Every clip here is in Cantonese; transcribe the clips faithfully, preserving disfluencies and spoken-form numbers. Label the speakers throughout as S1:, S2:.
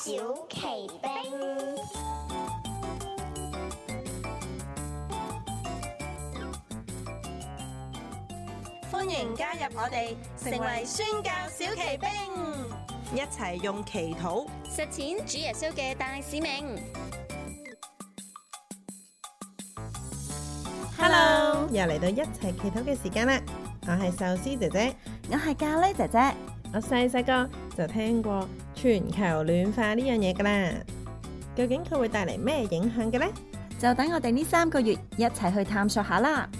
S1: 小奇兵，
S2: 歡迎加入我哋，成為宣教小奇兵，一齊用祈禱
S3: 實踐主耶穌嘅大使命。
S2: Hello，又嚟到一齊祈禱嘅時間啦！我係壽司姐姐，
S4: 我係咖喱姐姐。
S2: 我細細個就聽過全球暖化呢樣嘢噶啦，究竟佢會帶嚟咩影響嘅呢？
S4: 就等我哋呢三個月一齊去探索下啦。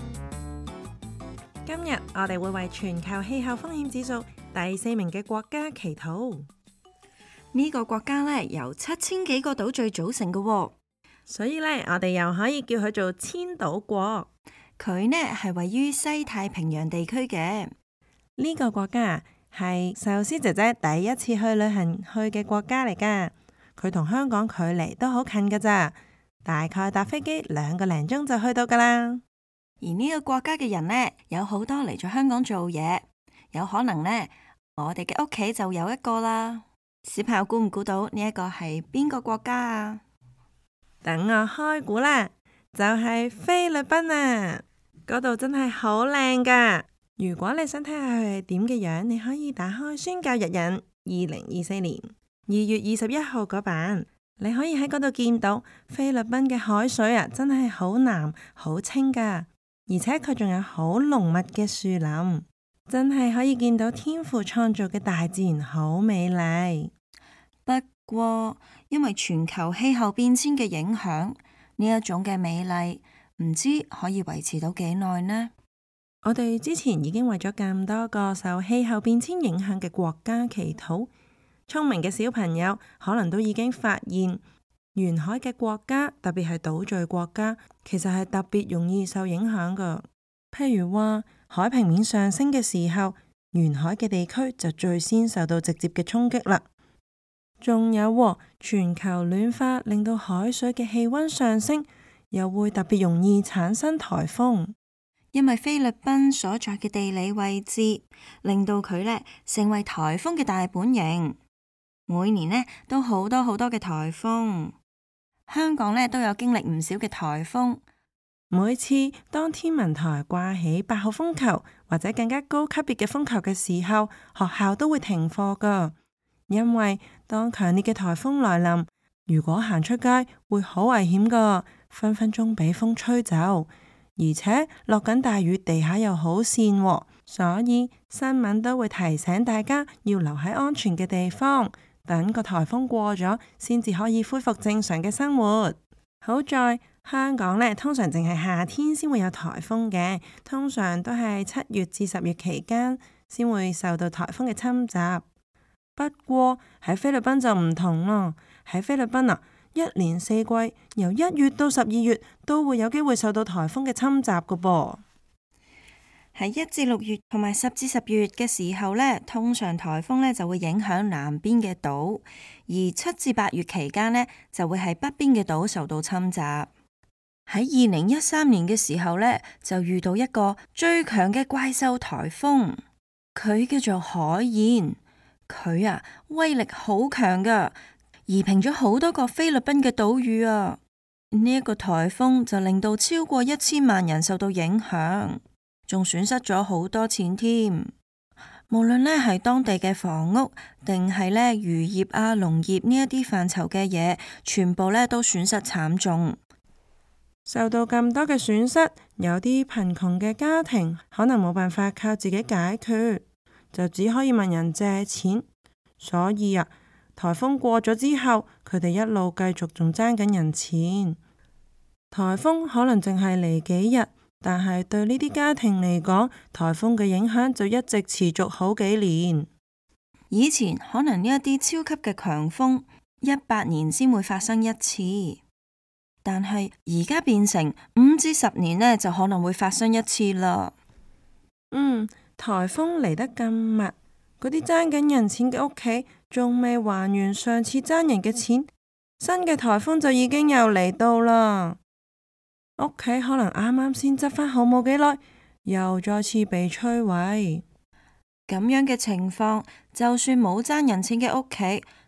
S2: 今日我哋會為全球氣候風險指數第四名嘅國家祈禱。
S4: 呢個國家咧由七千幾個島嶼組成嘅喎，
S2: 所以咧我哋又可以叫佢做千島國。
S4: 佢呢係位於西太平洋地區嘅。
S2: 呢個國家係壽司姐姐第一次去旅行去嘅國家嚟噶，佢同香港距離都好近噶咋，大概搭飛機兩個零鐘就去到噶啦。
S4: 而呢個國家嘅人呢，有好多嚟咗香港做嘢，有可能呢，我哋嘅屋企就有一個啦。小朋友估唔估到呢一個係邊個國家啊？
S2: 等我開估啦，就係菲律賓啊！嗰度真係好靚噶。如果你想睇下佢係點嘅樣，你可以打開宣教日引二零二四年二月二十一號嗰版，你可以喺嗰度見到菲律賓嘅海水啊，真係好藍好清噶，而且佢仲有好濃密嘅樹林，真係可以見到天父創造嘅大自然好美麗。
S4: 不過因為全球氣候變遷嘅影響，呢一種嘅美麗唔知可以維持到幾耐呢？
S2: 我哋之前已經為咗咁多個受氣候變遷影響嘅國家祈禱，聰明嘅小朋友可能都已經發現，沿海嘅國家，特別係島嶼國家，其實係特別容易受影響噶。譬如話海平面上升嘅時候，沿海嘅地區就最先受到直接嘅衝擊啦。仲有全球暖化令到海水嘅氣溫上升，又會特別容易產生颱風。
S4: 因為菲律賓所在嘅地理位置，令到佢呢成為颱風嘅大本營。每年呢都好多好多嘅颱風，香港呢都有經歷唔少嘅颱風。
S2: 每次當天文台掛起八號風球或者更加高級別嘅風球嘅時候，學校都會停課噶。因為當強烈嘅颱風來臨，如果行出街會好危險噶，分分鐘俾風吹走。而且落緊大雨，地下又好跣，所以新聞都會提醒大家要留喺安全嘅地方，等個颱風過咗，先至可以恢復正常嘅生活。好在香港呢，通常淨係夏天先會有颱風嘅，通常都係七月至十月期間先會受到颱風嘅侵襲。不過喺菲律賓就唔同咯，喺菲律賓啊，一年四季由一月到十二月都會有機會受到颱風嘅侵襲噶噃。
S4: 喺一至六月同埋十至十月嘅時候呢，通常颱風呢就會影響南邊嘅島，而七至八月期間呢，就會係北邊嘅島受到侵襲。喺二零一三年嘅時候呢，就遇到一個最強嘅怪獸颱風，佢叫做海燕，佢啊威力好強噶，夷平咗好多個菲律賓嘅島嶼啊！呢一個颱風就令到超過一千萬人受到影響，仲損失咗好多錢添。無論呢係當地嘅房屋，定係呢漁業啊、農業呢一啲範疇嘅嘢，全部呢都損失慘重。
S2: 受到咁多嘅損失，有啲貧窮嘅家庭可能冇辦法靠自己解決，就只可以問人借錢。所以啊，颱風過咗之後，佢哋一路繼續仲爭緊人錢。颱風可能淨係嚟幾日，但係對呢啲家庭嚟講，颱風嘅影響就一直持續好幾年。
S4: 以前可能呢一啲超級嘅強風，一百年先會發生一次，但係而家變成五至十年呢，就可能會發生一次啦。
S2: 嗯，颱風嚟得咁密，嗰啲爭緊人錢嘅屋企仲未還完上次爭人嘅錢，新嘅颱風就已經又嚟到啦。屋企可能啱啱先執返好冇幾耐，又再次被摧毀。
S4: 咁樣嘅情況，就算冇爭人錢嘅屋企，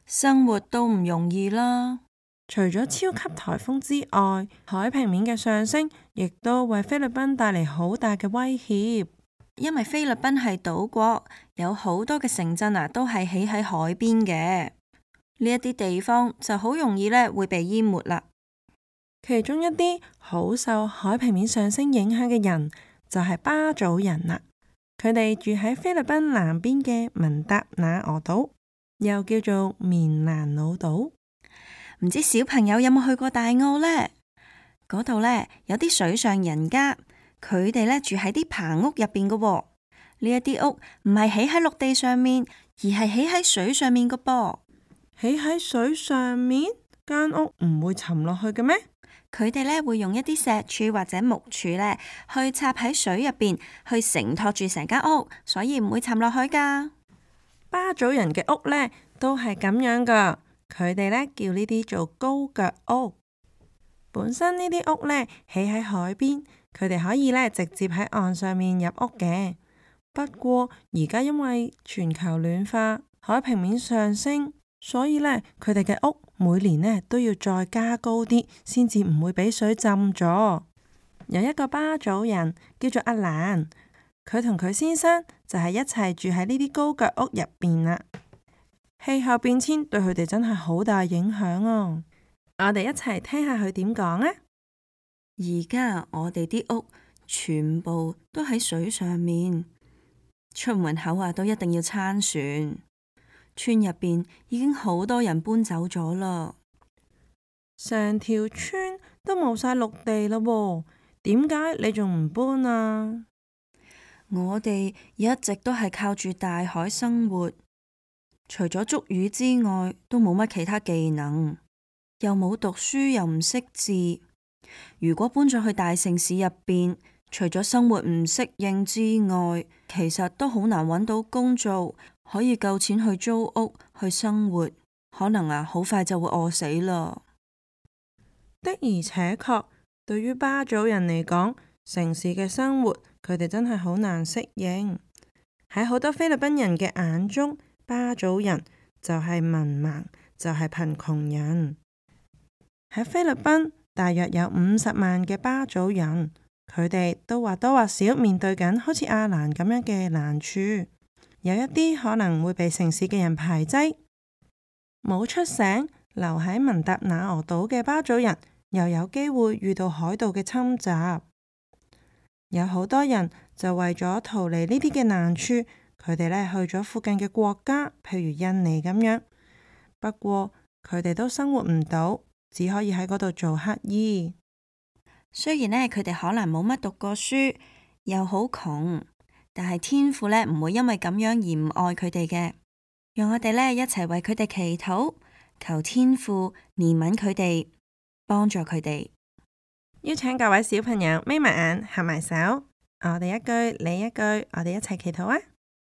S4: 生活都唔容易啦。
S2: 除咗超級颱風之外，海平面嘅上升亦都為菲律賓帶嚟好大嘅威脅。
S4: 因為菲律賓係島國，有好多嘅城鎮啊，都係起喺海邊嘅。呢一啲地方就好容易咧會被淹沒啦。
S2: 其中一啲好受海平面上升影響嘅人就係巴祖人啦。佢哋住喺菲律賓南邊嘅文達那俄島，又叫做棉蘭老島。
S4: 唔知小朋友有冇去過大澳呢？嗰度呢，有啲水上人家，佢哋呢住喺啲棚屋入邊嘅。呢一啲屋唔係起喺陸地上面，而係起喺水上面嘅噃。
S2: 起喺水上面，間屋唔會沉落去嘅咩？
S4: 佢哋呢會用一啲石柱或者木柱呢去插喺水入邊，去承托住成間屋，所以唔會沉落去噶。
S2: 巴祖人嘅屋呢都係咁樣噶。佢哋呢叫呢啲做高腳屋。本身呢啲屋呢起喺海邊，佢哋可以呢直接喺岸上面入屋嘅。不過而家因為全球暖化，海平面上升，所以呢佢哋嘅屋每年呢都要再加高啲，先至唔會俾水浸咗。有一個巴祖人叫做阿蘭，佢同佢先生就係一齊住喺呢啲高腳屋入邊啦。氣候變遷對佢哋真係好大影響啊！我哋一齊聽下佢點講啊！
S4: 而家我哋啲屋全部都喺水上面，出門口啊都一定要撐船。村入邊已經好多人搬走咗啦，
S2: 成條村都冇晒陸地啦喎，點解你仲唔搬啊？
S4: 我哋一直都係靠住大海生活。除咗捉魚之外，都冇乜其他技能，又冇讀書，又唔識字。如果搬咗去大城市入邊，除咗生活唔適應之外，其實都好難揾到工做，可以夠錢去租屋去生活。可能啊，好快就會餓死啦。
S2: 的而且確，對於巴祖人嚟講，城市嘅生活佢哋真係好難適應。喺好多菲律賓人嘅眼中，巴祖人就係文盲，就係貧窮人。喺菲律賓大約有五十萬嘅巴祖人，佢哋都或多或少面對緊好似阿蘭咁樣嘅難處。有一啲可能會被城市嘅人排擠，冇出省留喺文達那俄島嘅巴祖人，又有機會遇到海盜嘅侵襲。有好多人就為咗逃離呢啲嘅難處，佢哋呢去咗附近嘅國家，譬如印尼咁樣。不過佢哋都生活唔到，只可以喺嗰度做乞兒。
S4: 雖然呢，佢哋可能冇乜讀過書，又好窮，但係天父呢唔會因為咁樣而唔愛佢哋嘅。讓我哋呢一齊為佢哋祈禱，求天父憐憫佢哋，幫助佢哋。
S2: 邀請各位小朋友眯埋眼，合埋手，我哋一句你一句，我哋一齊祈禱啊！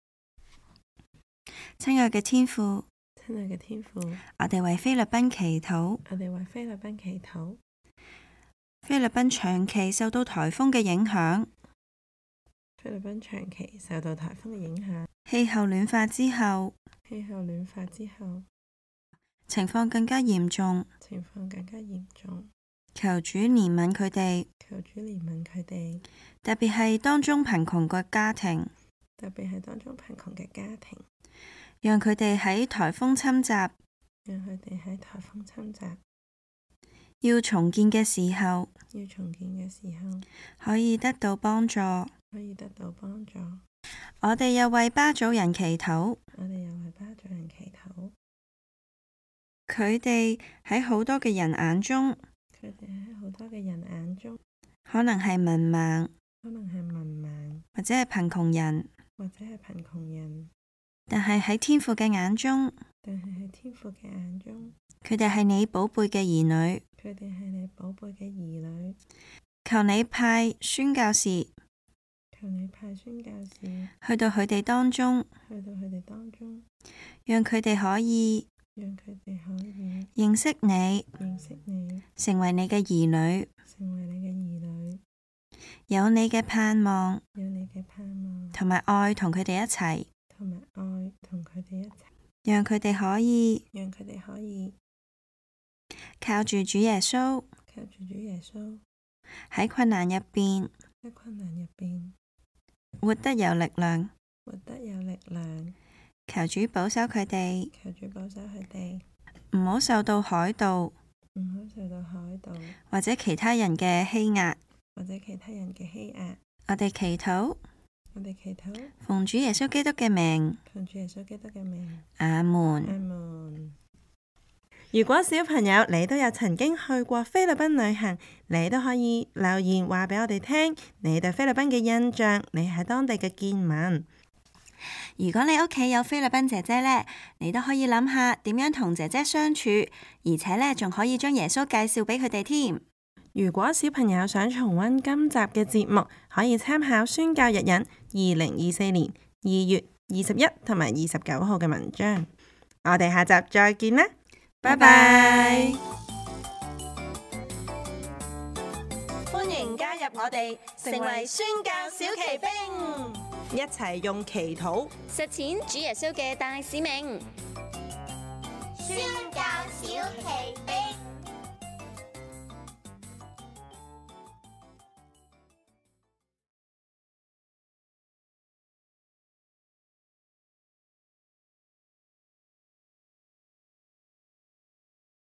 S4: 親愛嘅天父，
S2: 親愛嘅天父，
S4: 我哋為菲律賓祈禱，
S2: 我哋為菲律賓祈禱。
S4: 菲律賓長期受到颱風嘅影響，
S2: 菲律賓長期受到颱風嘅影響，
S4: 氣候暖化之後，
S2: 氣候暖化之後，
S4: 情況更加嚴重，
S2: 情況更加嚴重。
S4: 求主憐憫佢哋，
S2: 求主憐憫佢哋，
S4: 特別係當中貧窮嘅家庭，
S2: 特別係當中貧窮嘅家庭。
S4: 讓佢哋喺颱風侵襲，
S2: 讓佢哋喺颱風侵襲，
S4: 要重建嘅時候，
S2: 要重建嘅時候，
S4: 可以得到幫助，
S2: 可以得到幫助。
S4: 我哋又為巴祖人祈禱，
S2: 我哋又為巴祖人祈禱。
S4: 佢哋喺好多嘅人眼中，
S2: 佢哋喺好多嘅人眼中，
S4: 可能係文盲，
S2: 可能係文盲，
S4: 或者係貧窮人，
S2: 或者係貧窮人。
S4: 但係喺天父嘅眼中，
S2: 但係喺天父嘅眼中，
S4: 佢哋係你寶貝嘅兒女。
S2: 佢哋係你寶貝嘅兒女。
S4: 求你派宣教士，
S2: 求你派宣教士
S4: 去到佢哋當中，
S2: 去到佢哋當中，
S4: 讓佢哋可以，
S2: 讓佢哋可以
S4: 認識你，
S2: 認識你，
S4: 成為你嘅兒女，
S2: 成為你嘅兒女，
S4: 有你嘅盼望，
S2: 有你嘅盼望，
S4: 同埋愛同佢哋一齊。
S2: 同埋愛同佢哋一齊。
S4: 讓佢哋可以，
S2: 讓佢哋可以
S4: 靠住主耶穌，
S2: 靠住主耶穌
S4: 喺困難入邊，
S2: 喺困難入邊
S4: 活得有力量，
S2: 活得有力量。
S4: 求主保守佢哋，
S2: 求主保守佢哋，
S4: 唔好受到海盜，
S2: 唔好受到海盜
S4: 或者其他人嘅欺壓，
S2: 或者其他人嘅欺壓。
S4: 我哋祈禱，
S2: 我哋祈禱，
S4: 奉主耶穌基督嘅名，
S2: 奉主耶穌基督嘅名，
S4: 阿門。
S2: 阿門。如果小朋友你都有曾經去過菲律賓旅行，你都可以留言話俾我哋聽，你對菲律賓嘅印象，你喺當地嘅見聞。
S4: 如果你屋企有菲律賓姐姐呢，你都可以諗下點樣同姐姐相處，而且呢，仲可以將耶穌介紹俾佢哋添。
S2: 如果小朋友想重溫今集嘅節目，可以參考宣教日引二零二四年二月二十一同埋二十九號嘅文章。我哋下集再見啦，拜拜！歡迎加入我哋，成為宣教小騎兵，一齊用祈禱
S3: 實踐主耶穌嘅大使命。
S1: 宣教小騎兵。